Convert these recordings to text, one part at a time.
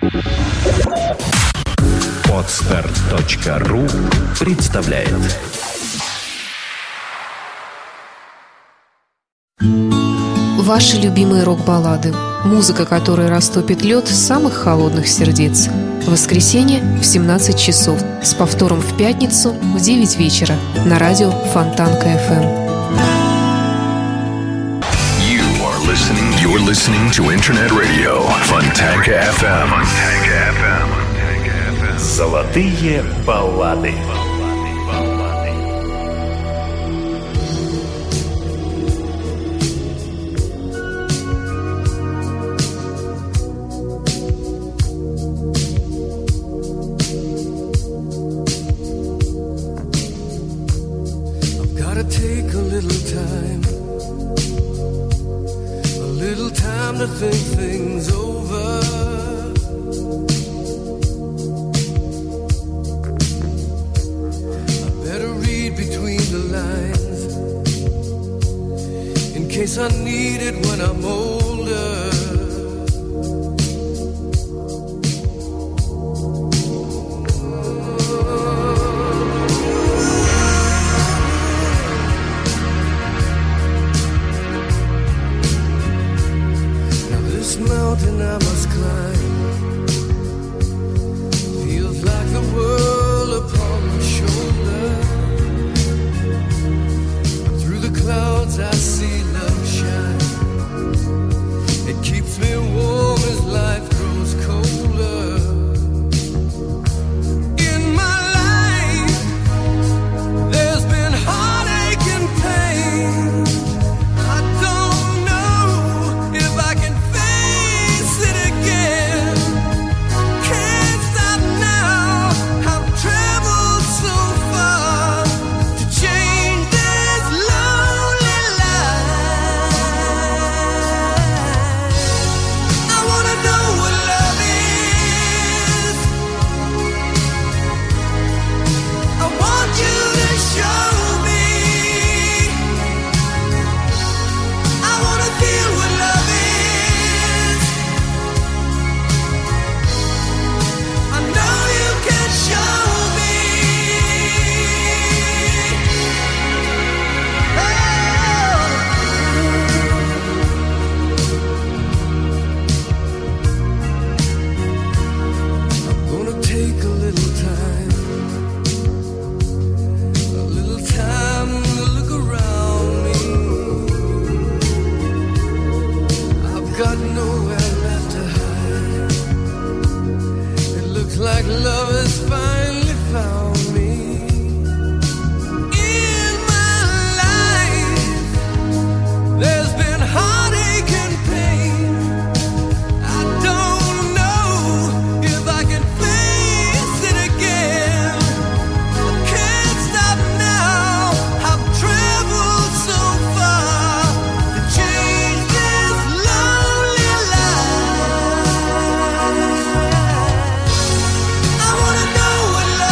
Podster.ru представляет. Ваши любимые рок-баллады. Музыка, которая растопит лед самых холодных сердец. В воскресенье в 17 часов. С повтором в пятницу в 9 вечера. На радио Фонтанка FM. You're listening to Internet Radio Фонтанка FM. Золотые баллады. To think things over. I better read between the lines in case I need it when I'm older. Mountain I must climb feels like the world upon my shoulder. Through the clouds I see love shine. It keeps me warm as life grows colder. In my life there's been heartache and pain. I don't know if I can like love has finally found me. In my life there's been heartache and pain. I don't know if I can face it again. I can't stop now. I've traveled so far to change this lonely life. I wanna know what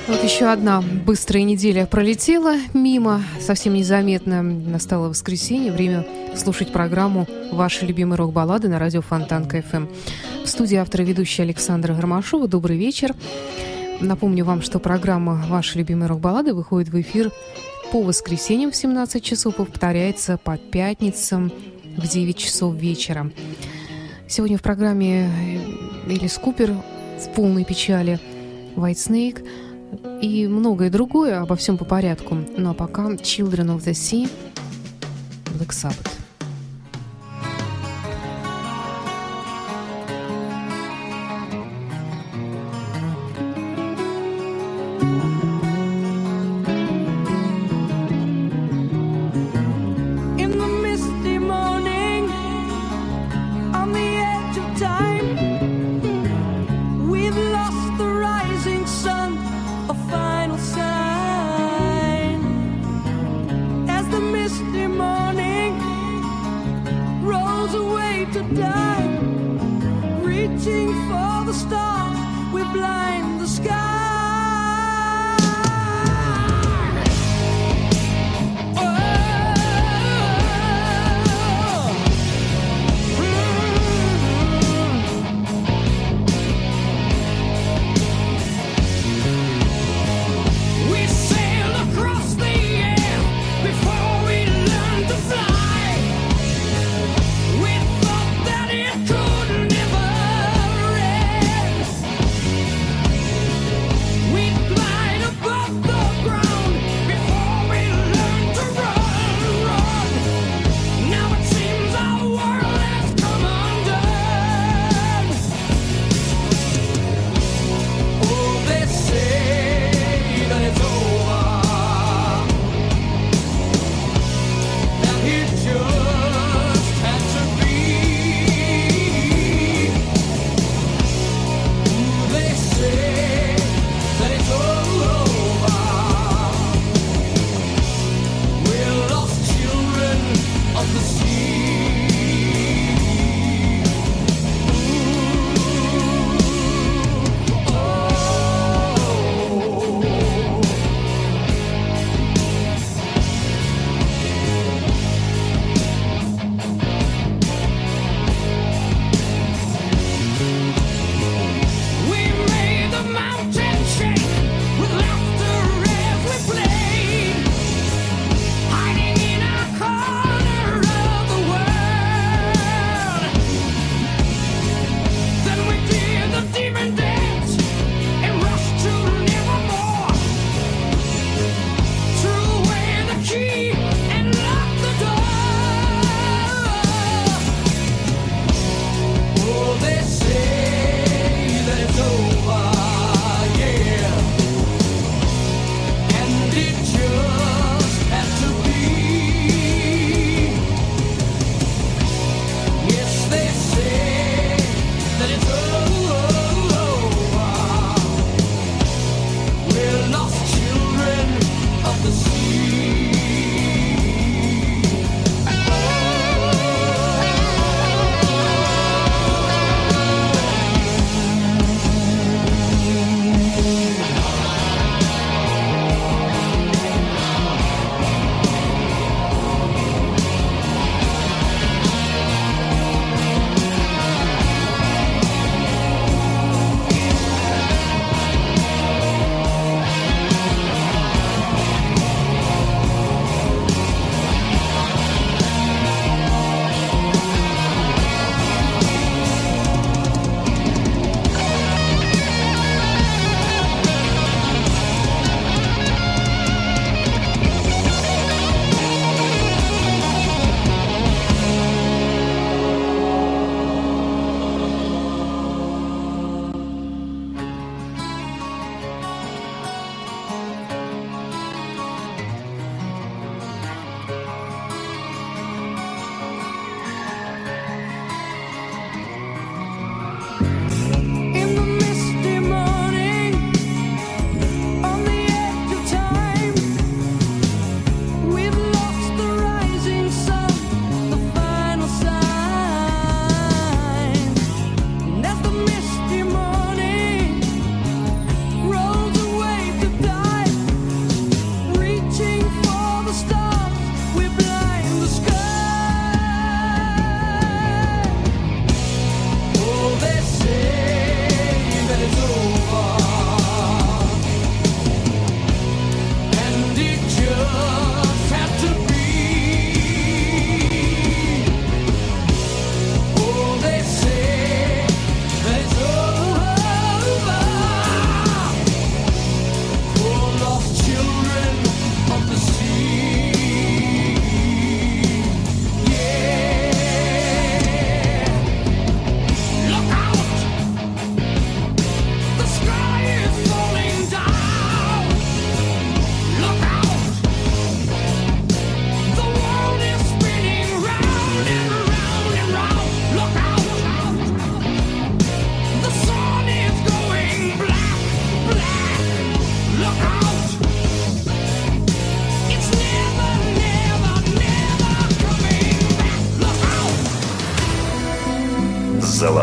Вот еще одна быстрая неделя пролетела мимо, совсем незаметно. Настало воскресенье, время слушать программу «Ваши любимые рок-баллады» на радио Фонтанка FM. В студии автор и ведущая Александра Гармашова. Добрый вечер. Напомню вам, что программа «Ваши любимые рок-баллады» выходит в эфир по воскресеньям в 17 часов и повторяется по пятницам в 9 часов вечера. Сегодня в программе Элис Купер в полной печали, White Snake и многое другое, обо всем по порядку. Ну а пока Children of the Sea, Black Sabbath. Misty morning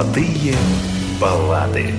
Золотые баллады.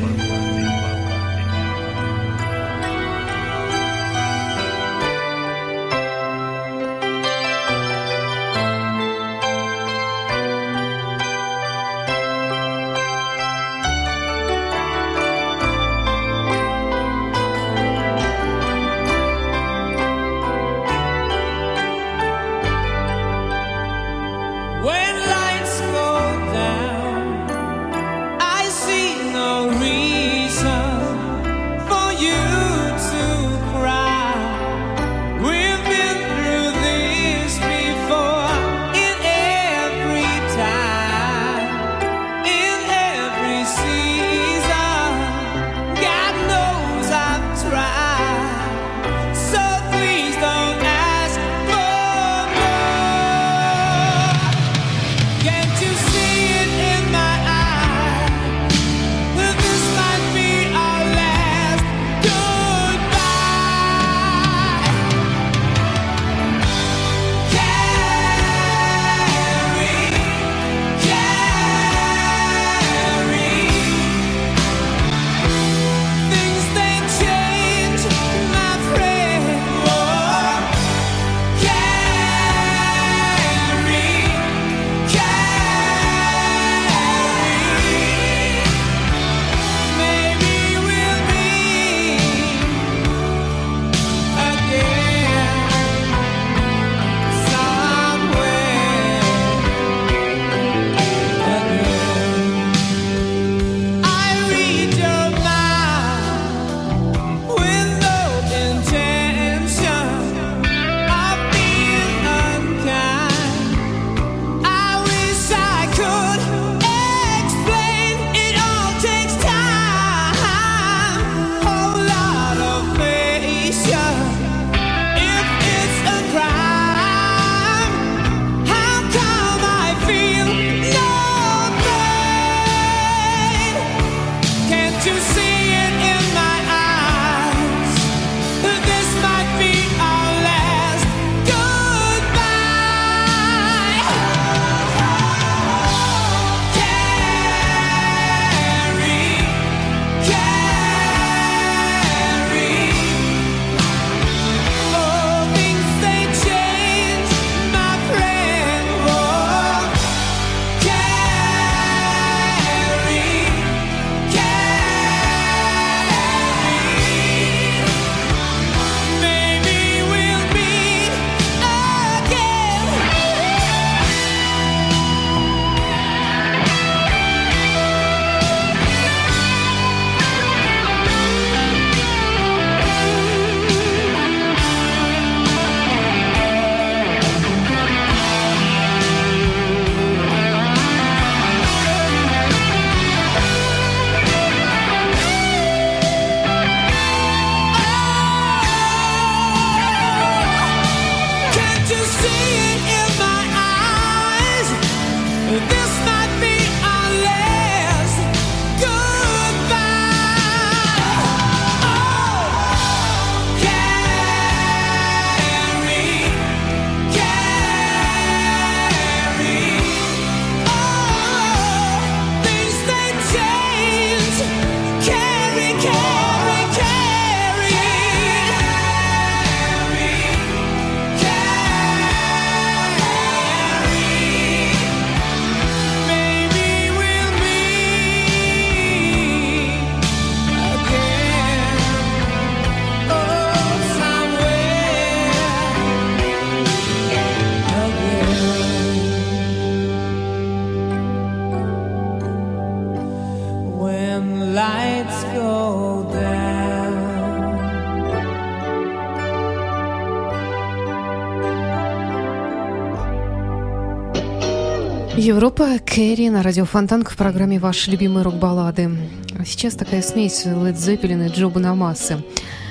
Европа, Кэрри на радио Фонтанка в программе «Ваши любимые рок-баллады». Сейчас такая смесь Led Zeppelin и Джо Бонамассы.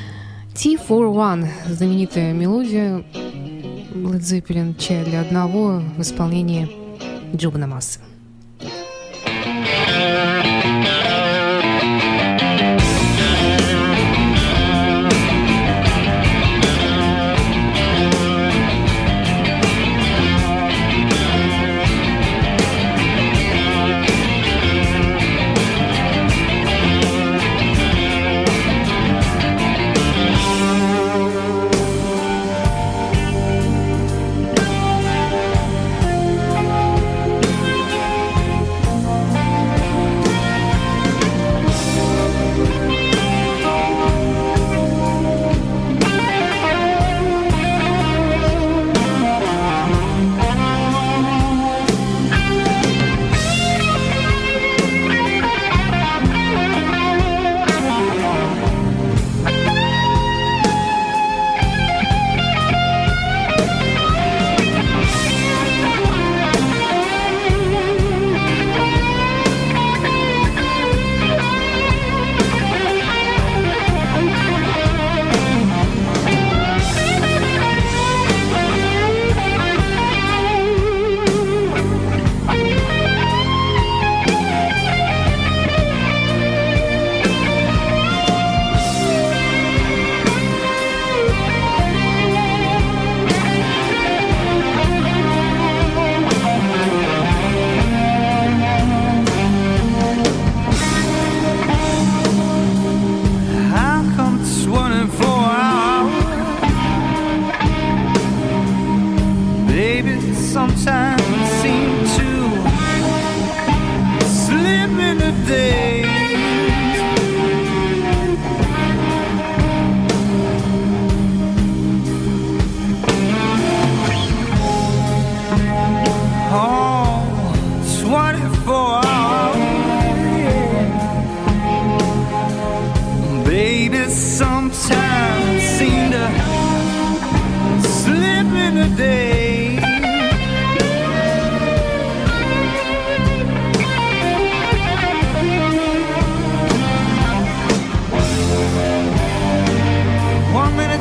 T-for-One – знаменитая мелодия Led Zeppelin «Чай для одного» в исполнении Джо Бонамассы.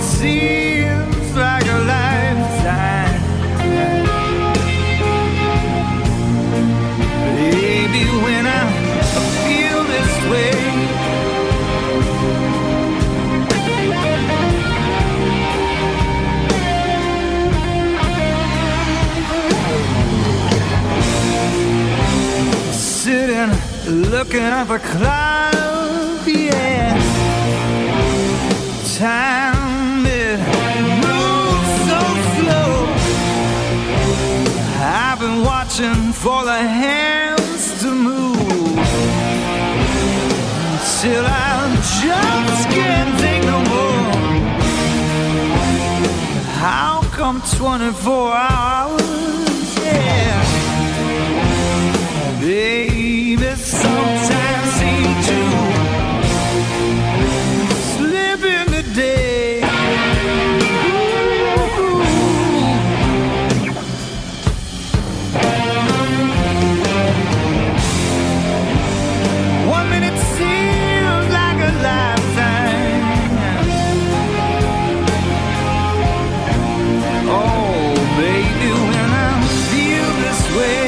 minute seems like a lifetime. Baby, when I feel this way, sitting, looking at the clouds, yeah. Time, it moves so slow. I've been watching for the hands to move, till I just can't take no more. How come 24 hours, yeah. Baby, sometimes seem to slip in the day. One minute seems like a lifetime. Oh, baby, when I feel this way,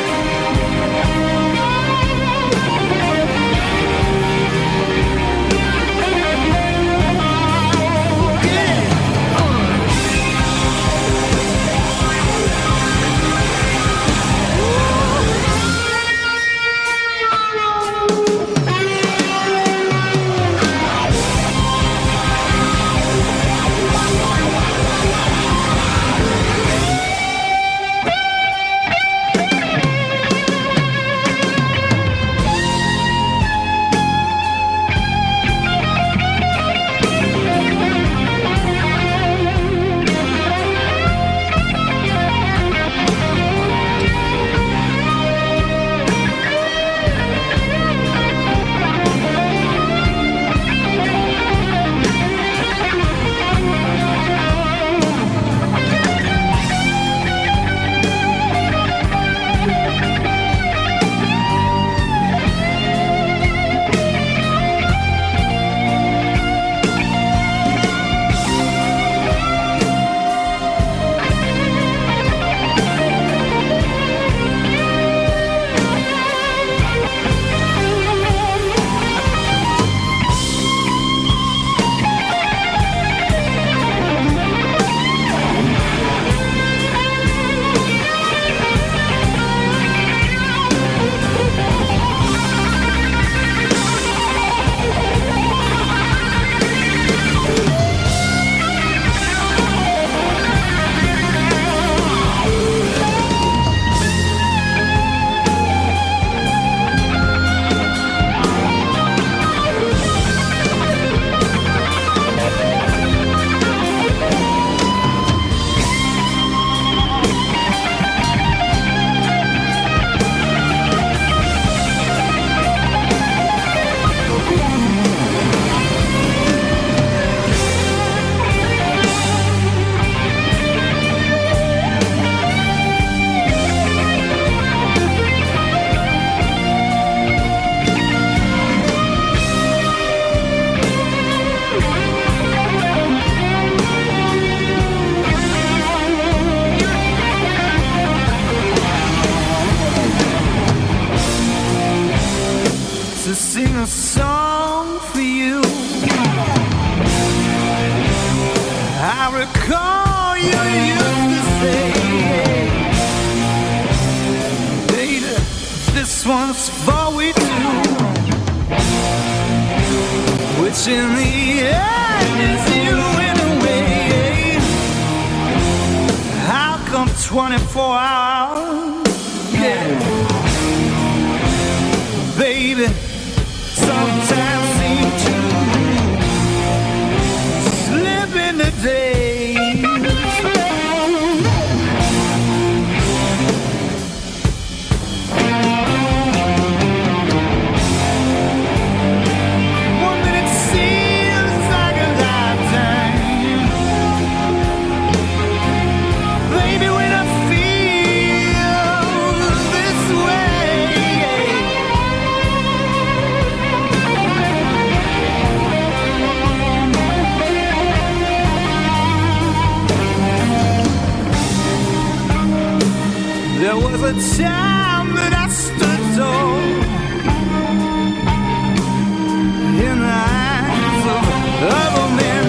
sing a song for you. I recall you used to say, baby, this one's for we two, which in the end is you in a way. How come 24 hours? Yeah, baby, sometimes seem to slip in the days. One minute seems like a lifetime. Baby, when I feel this way, the time that I stood tall in the eyes of other men.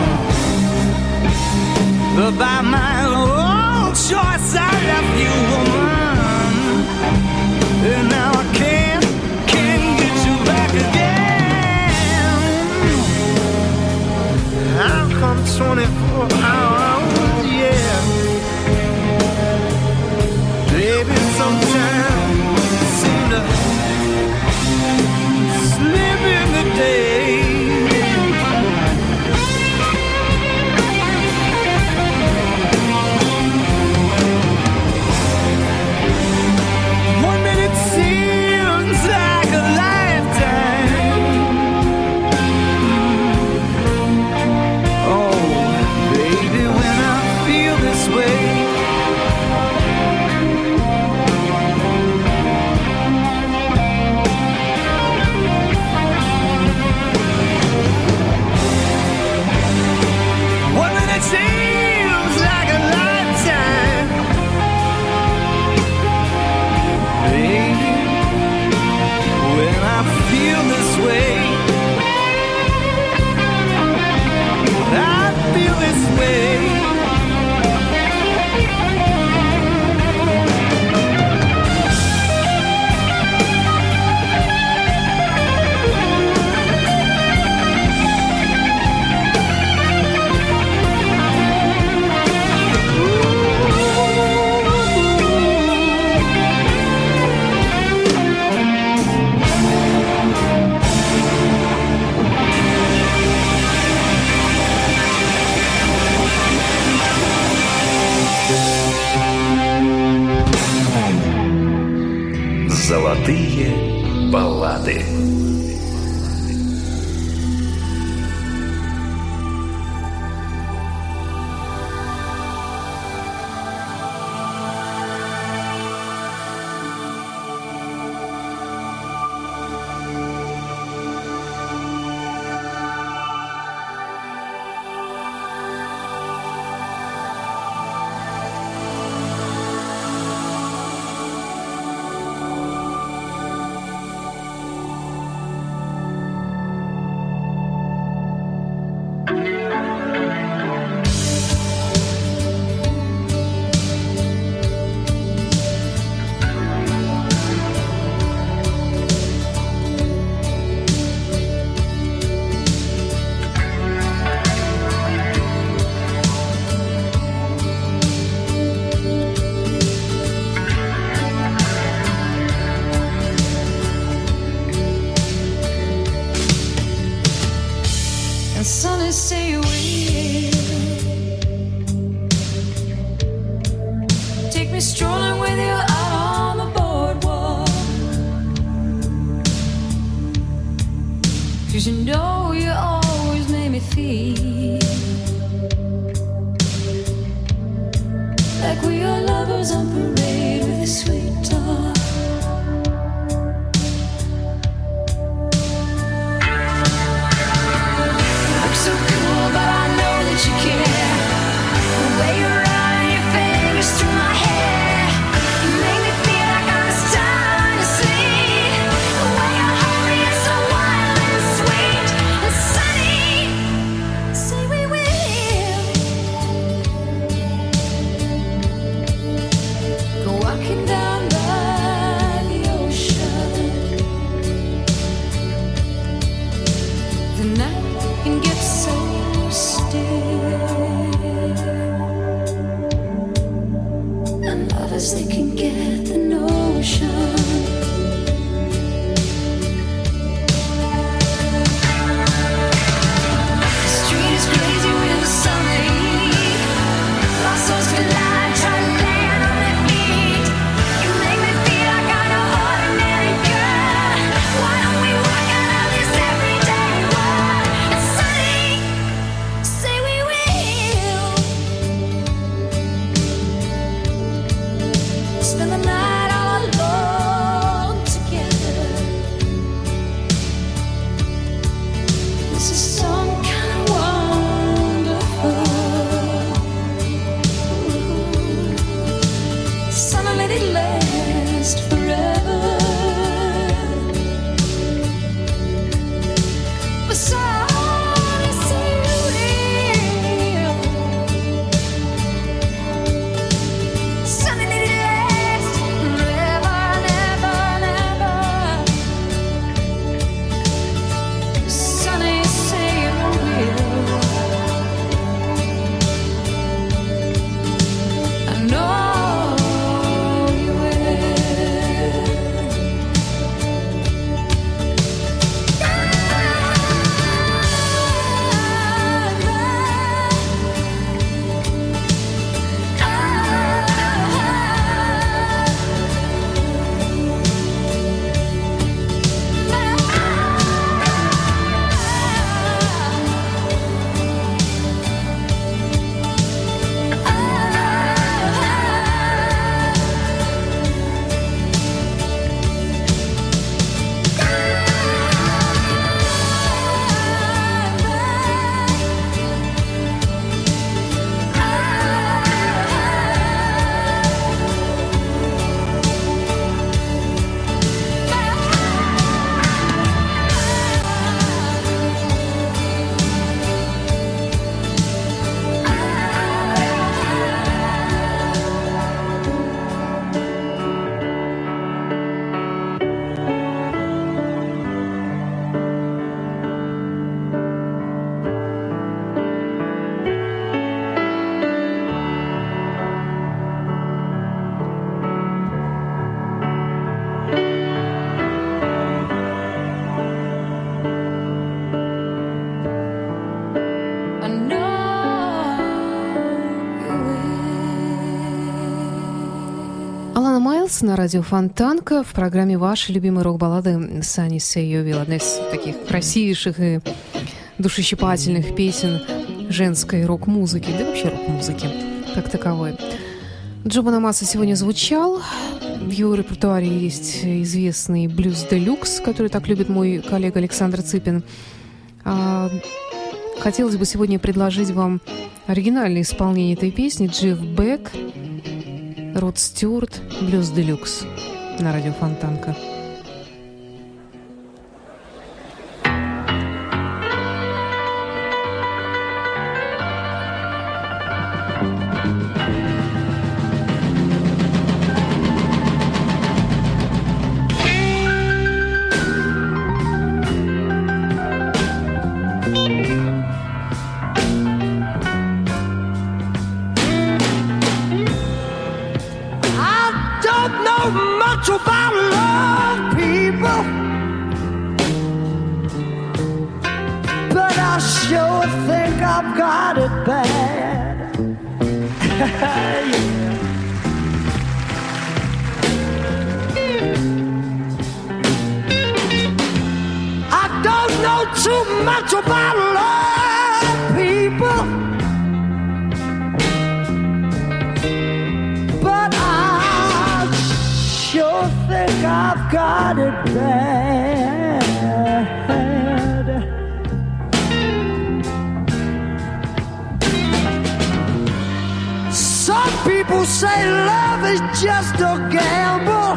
But by my own choice I left you, woman, and now I can't get you back again. How come 24 hours, yeah. Baby, sometimes seem to slip in the day. One minute seems like a lifetime. Oh, baby, when I feel this way, seems like a lifetime, baby, when I feel this way, I feel this way. Золотые баллады. Styles на радио Фонтанка в программе «Ваши любимые рок-баллады». Sunny Say You Will, одна из таких красивейших и душещипательных песен женской рок-музыки, да и вообще рок-музыки как таковой. Джо Бонамасса сегодня звучал. В его репертуаре есть известный блюз делюкс, который так любит мой коллега Александр Цыпин. Хотелось бы сегодня предложить вам оригинальное исполнение этой песни. Джефф Бек, Род Стюарт, блюз делюкс на радио Фонтанка. About love, people, but I sure think I've got it bad. Yeah. I don't know too much about love, people, but I sure think I've got it bad. Some people say love is just a gamble,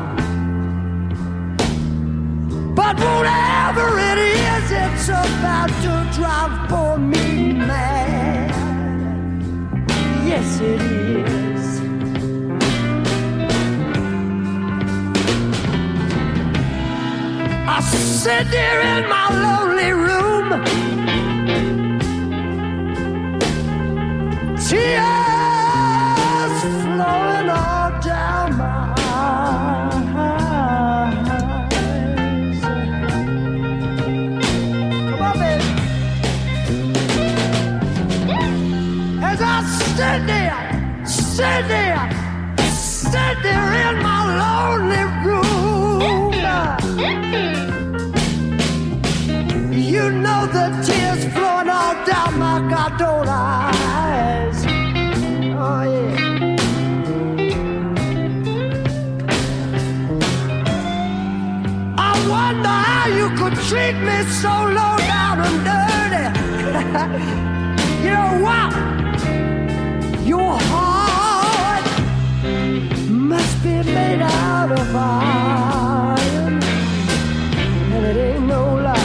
but whatever it is, it's about to drive poor me mad. Yes, it is. I sit there in my lonely room, tears flowing all down my eyes. Come on, baby. As I sit there in my lonely room, you know the tears flowing all down my goddamn eyes. Oh yeah. I wonder how you could treat me so low down and dirty. You know what? Your heart must be made out of iron, and it ain't no lie.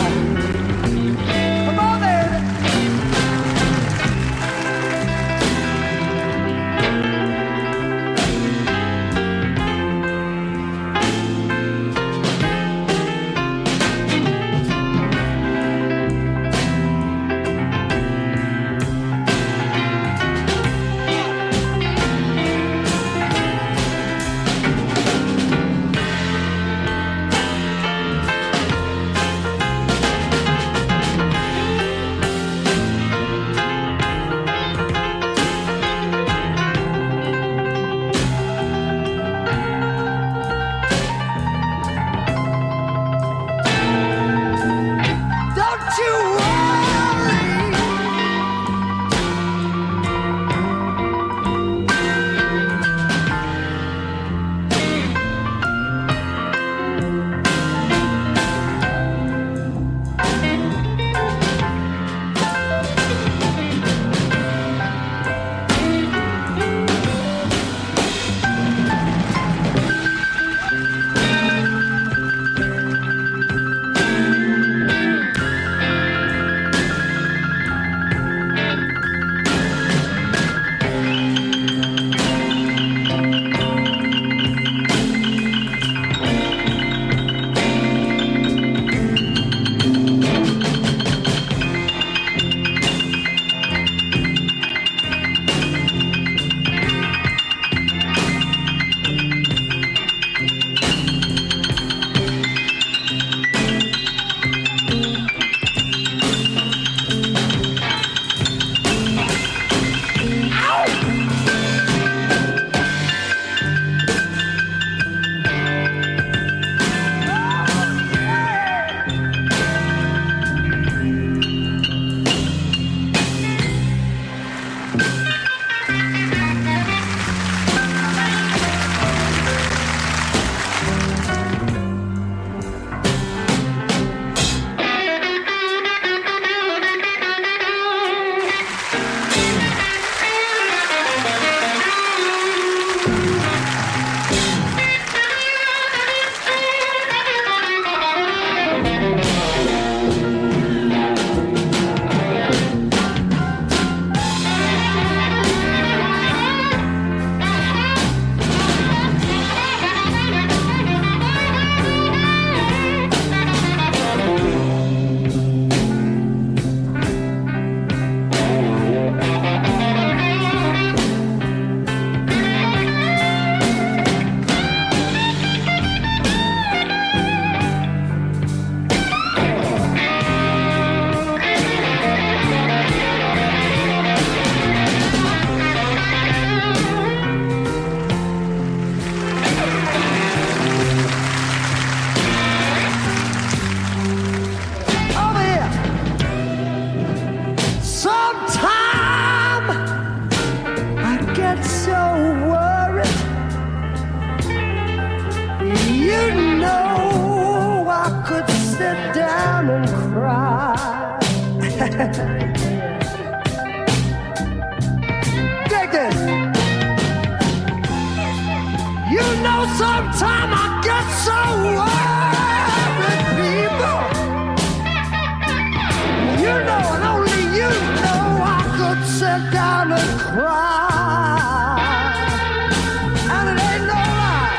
down and cry. And it ain't no lie,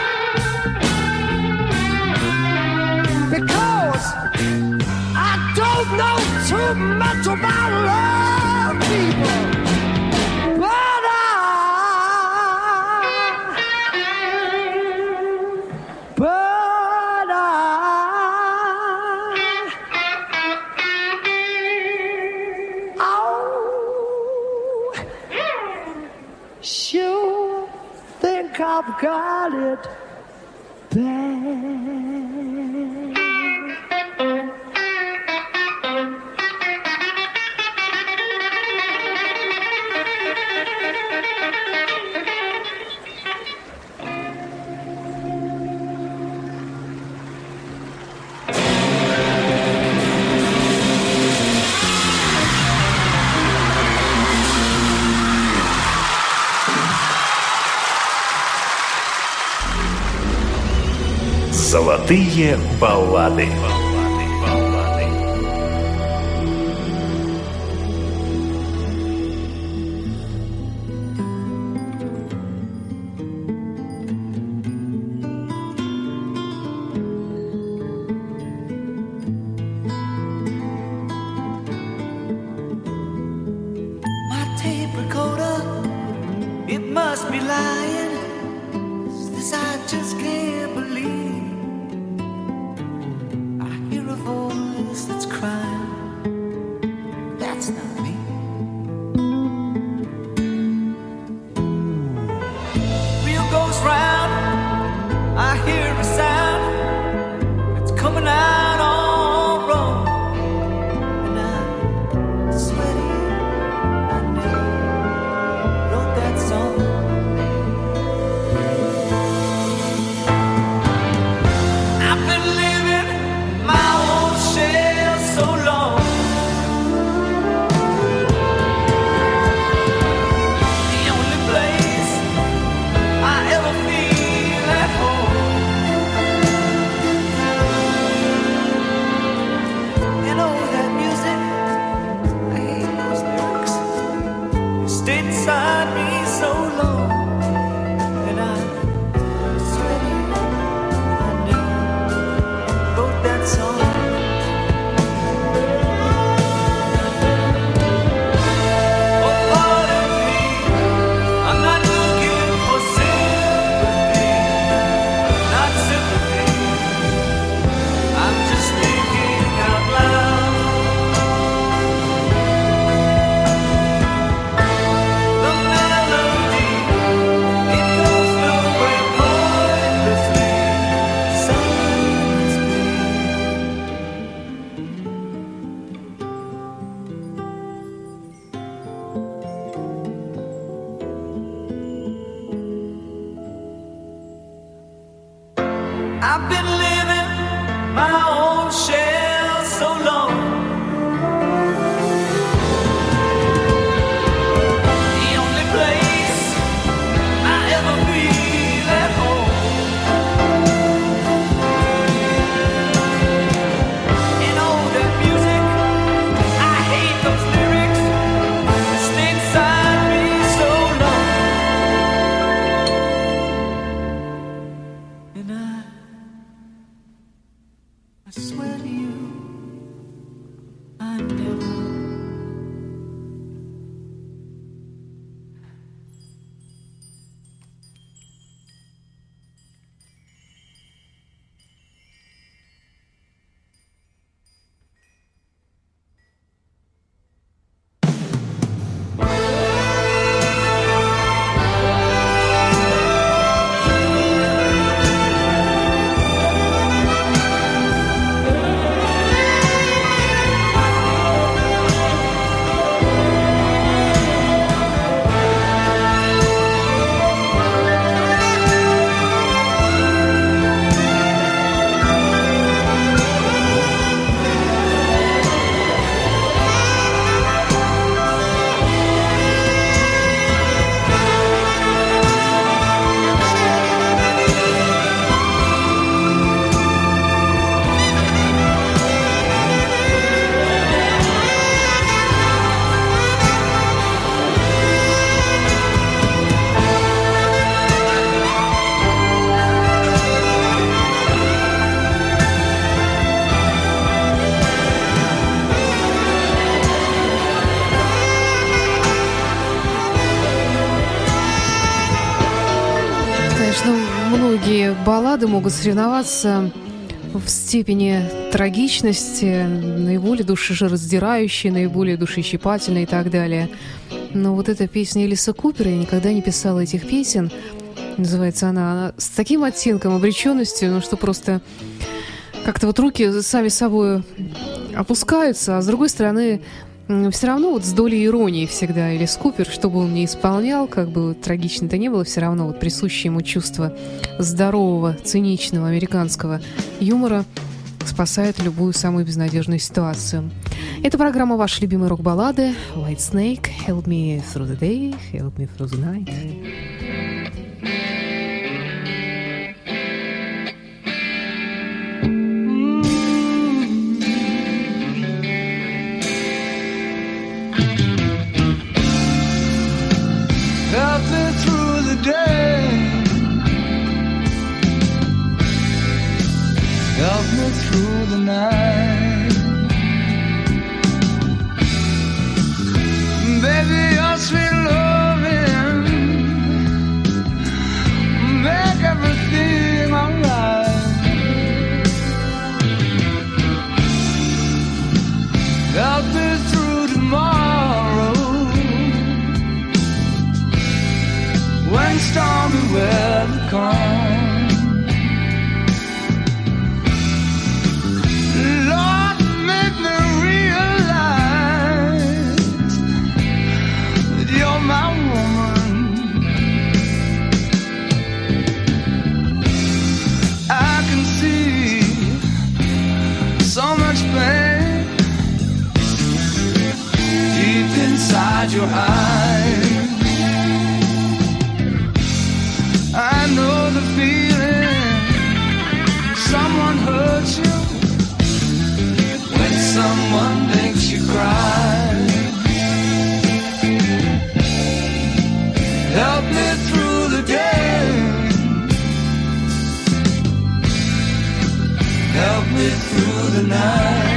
because I don't know too much about love, people, but sure think I've got it bad. Золотые баллады. My tape recorder, it must be lying. This I just can't believe. That's crying, that's not me. Wheel goes round, I hear a sound that's coming out all wrong, and I'm sweaty. I never wrote that song. I've been living my own shell so long. The only place I ever feel at home. And oh, that music, I hate those lyrics. It stayed inside me so long, and I'm sweaty. I never wrote that song. I've been living my own shell so long. The only place I ever feel at home. And all that music, I hate those lyrics. Stay inside me so long. And I swear to you, Конечно, многие баллады могут соревноваться в степени трагичности, наиболее душераздирающей, наиболее душещипательной и так далее. Но вот эта песня Элиса Купера, я никогда не писала этих песен, называется она с таким оттенком обреченности, ну что просто как-то вот руки сами собой опускаются, а с другой стороны все равно вот с долей иронии всегда Элис Купер, что бы он ни исполнял, как бы вот трагично-то не было, все равно вот присущее ему чувство здорового, циничного американского юмора спасает любую самую безнадежную ситуацию. Это программа «Ваши любимые рок-баллады» White Snake, Help Me Through the Day, Help Me Through the Night. Help me through the day. Help me through the night. Baby, your sweet loving make everything alright. Help me through tomorrow when stormy weather comes. Lord, make me realize that you're my woman. I can see so much pain deep inside your eyes. I know the feeling. Someone hurts you when someone makes you cry. Help me through the day. Help me through the night.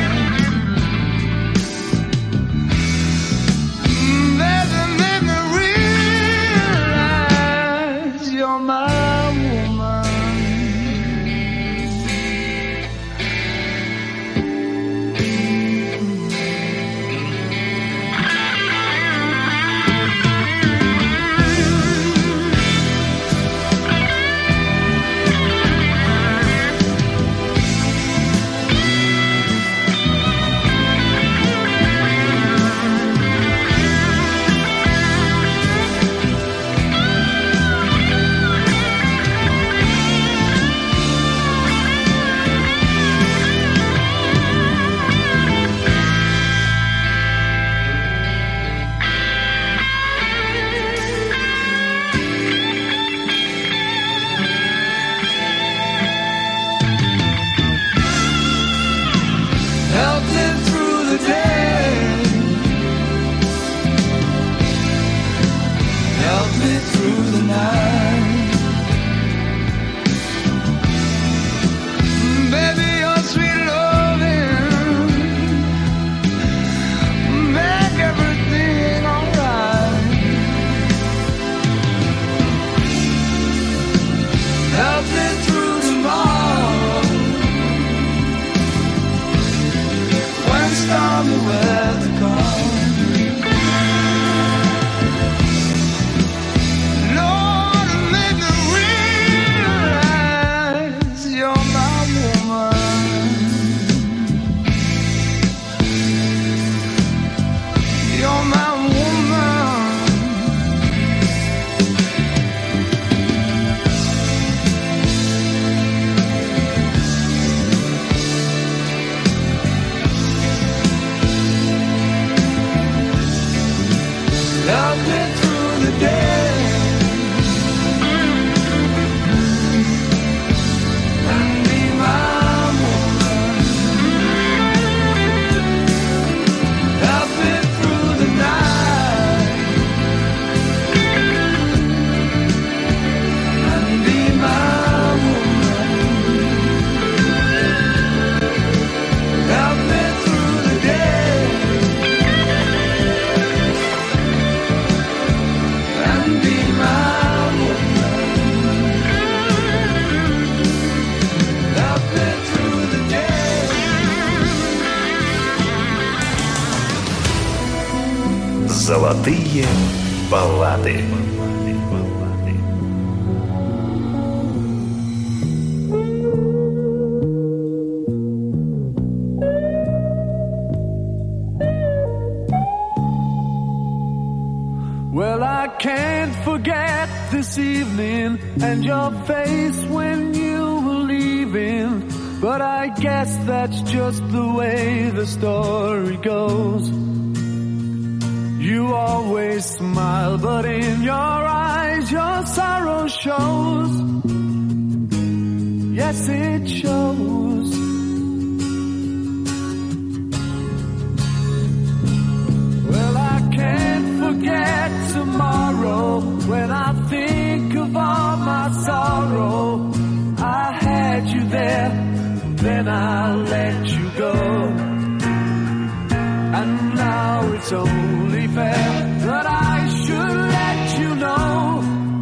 Be Золотые баллады. Well, I can't forget this evening and your face when you were leaving. But I guess that's just the way the story goes. You always smile, but in your eyes your sorrow shows. Yes, it shows. Well, I can't forget tomorrow when I think of all my sorrow. I had you there, then I let you go. And now it's only fair that I should let you know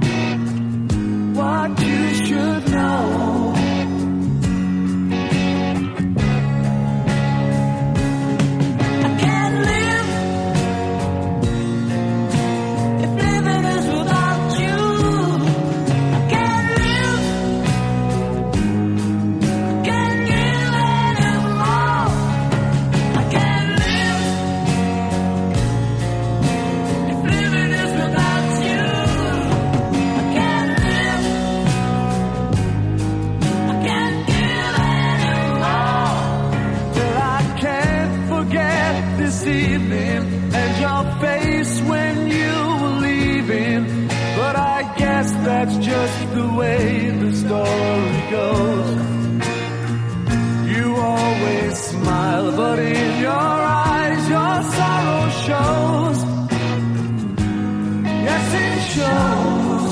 what you should know. I can't live if living is without you. I can't live, I can't give anymore. I can't live if living is without you. I can't live, I can't give anymore. Well, I can't forget this evening and your face when you were leaving. But I guess that's just the way the story goes. You always smile, but in your eyes your sorrow shows. Yes, it shows.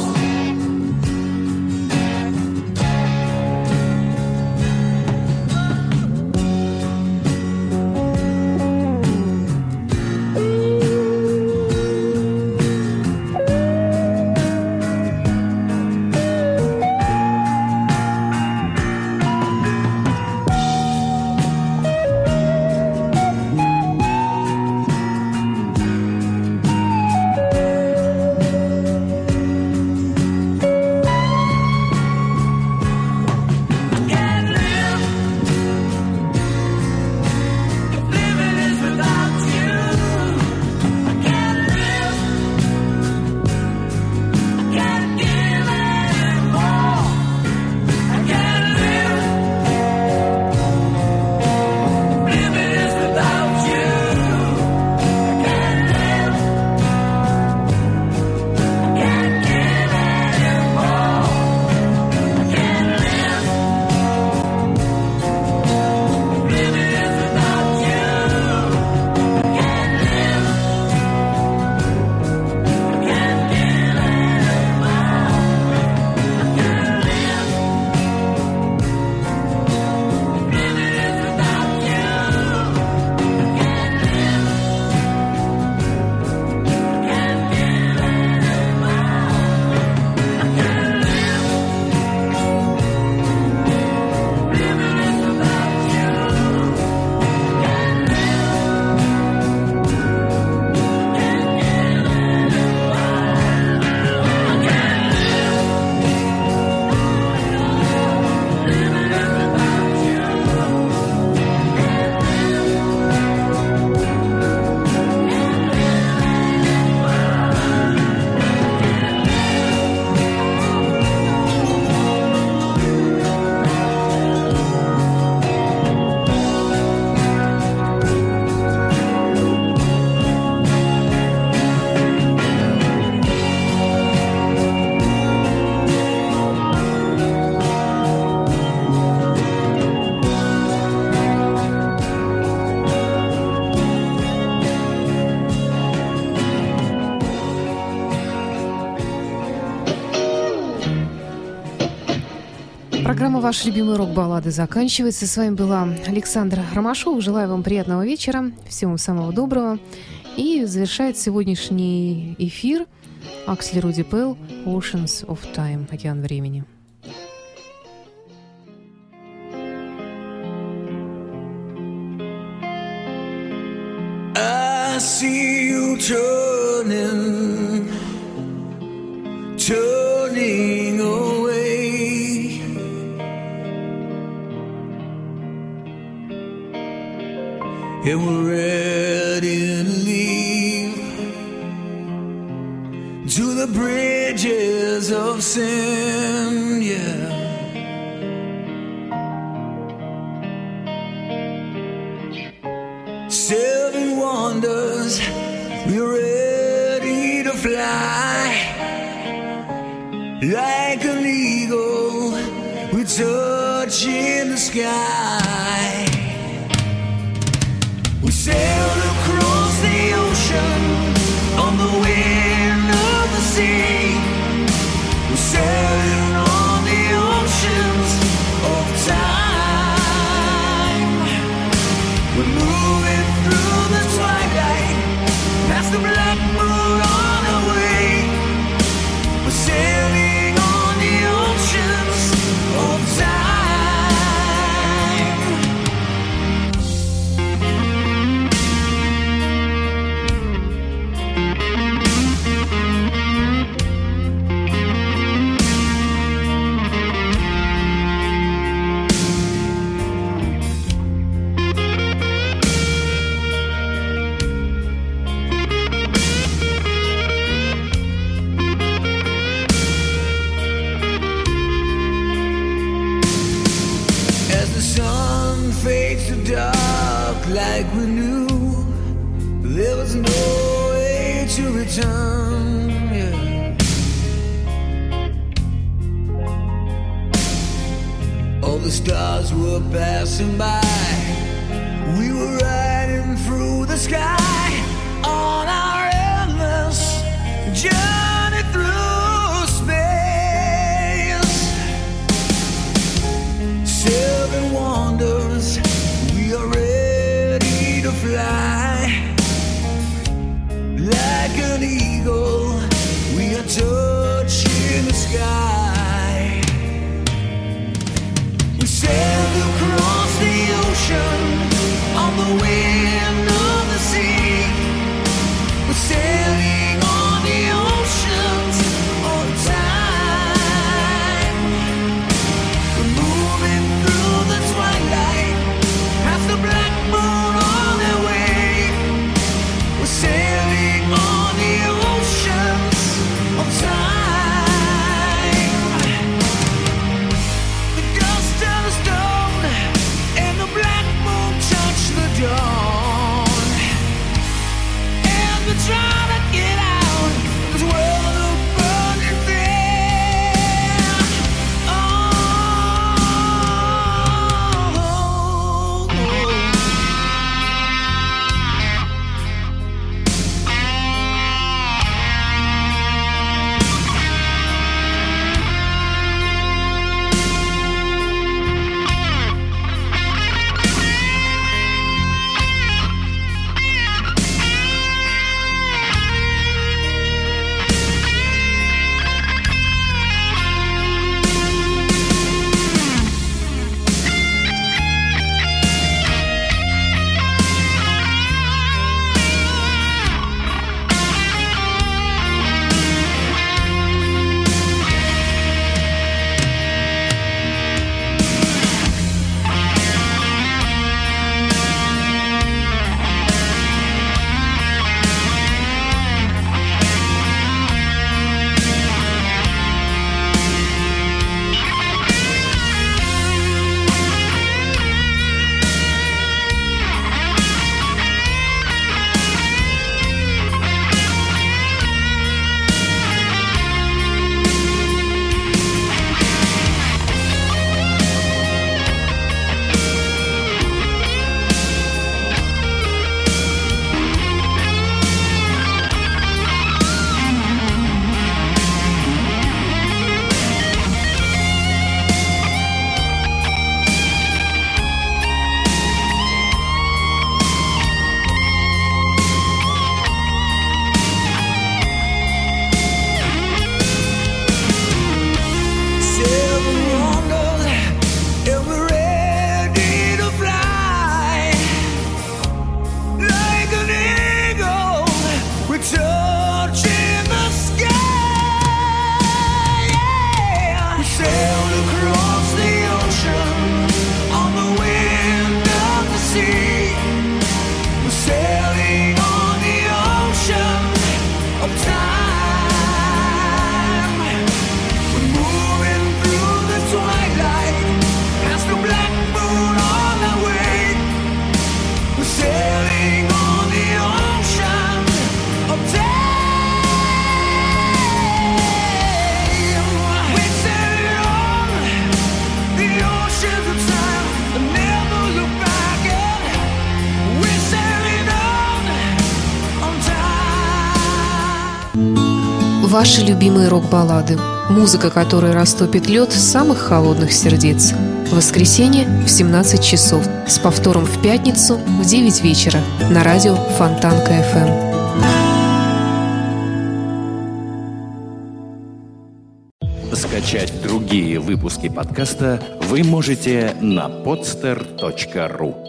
Программа «Ваши любимые рок-баллады» заканчивается. С вами была Александра Ромашова. Желаю вам приятного вечера, всего вам самого доброго. И завершает сегодняшний эфир Аксли Руди Пелл «Oceans of Time» – «Океан времени». I see you turn turning away. And we're ready to leave to the bridges of sin, yeah. Seven wonders, we're ready to fly. Like an eagle, we touch in the sky. We sailed across the ocean on the wind of the sea. We're sailing on the oceans of time. We're moving through the twilight, past the black moon on our way. We're sailing on the oceans of time. Like we knew there was no way to return, yeah. All the stars were passing by. We were riding through the sky on our endless journey through space. Seven wonders, we are ready to fly. Like an eagle, we are touching the sky. We sailed across the ocean on the wind of the sea. Ваши любимые рок-баллады. Музыка, которая растопит лед самых холодных сердец. В воскресенье в 17 часов. С повтором в пятницу в 9 вечера. На радио Фонтанка FM. Скачать другие выпуски подкаста вы можете на podster.ru.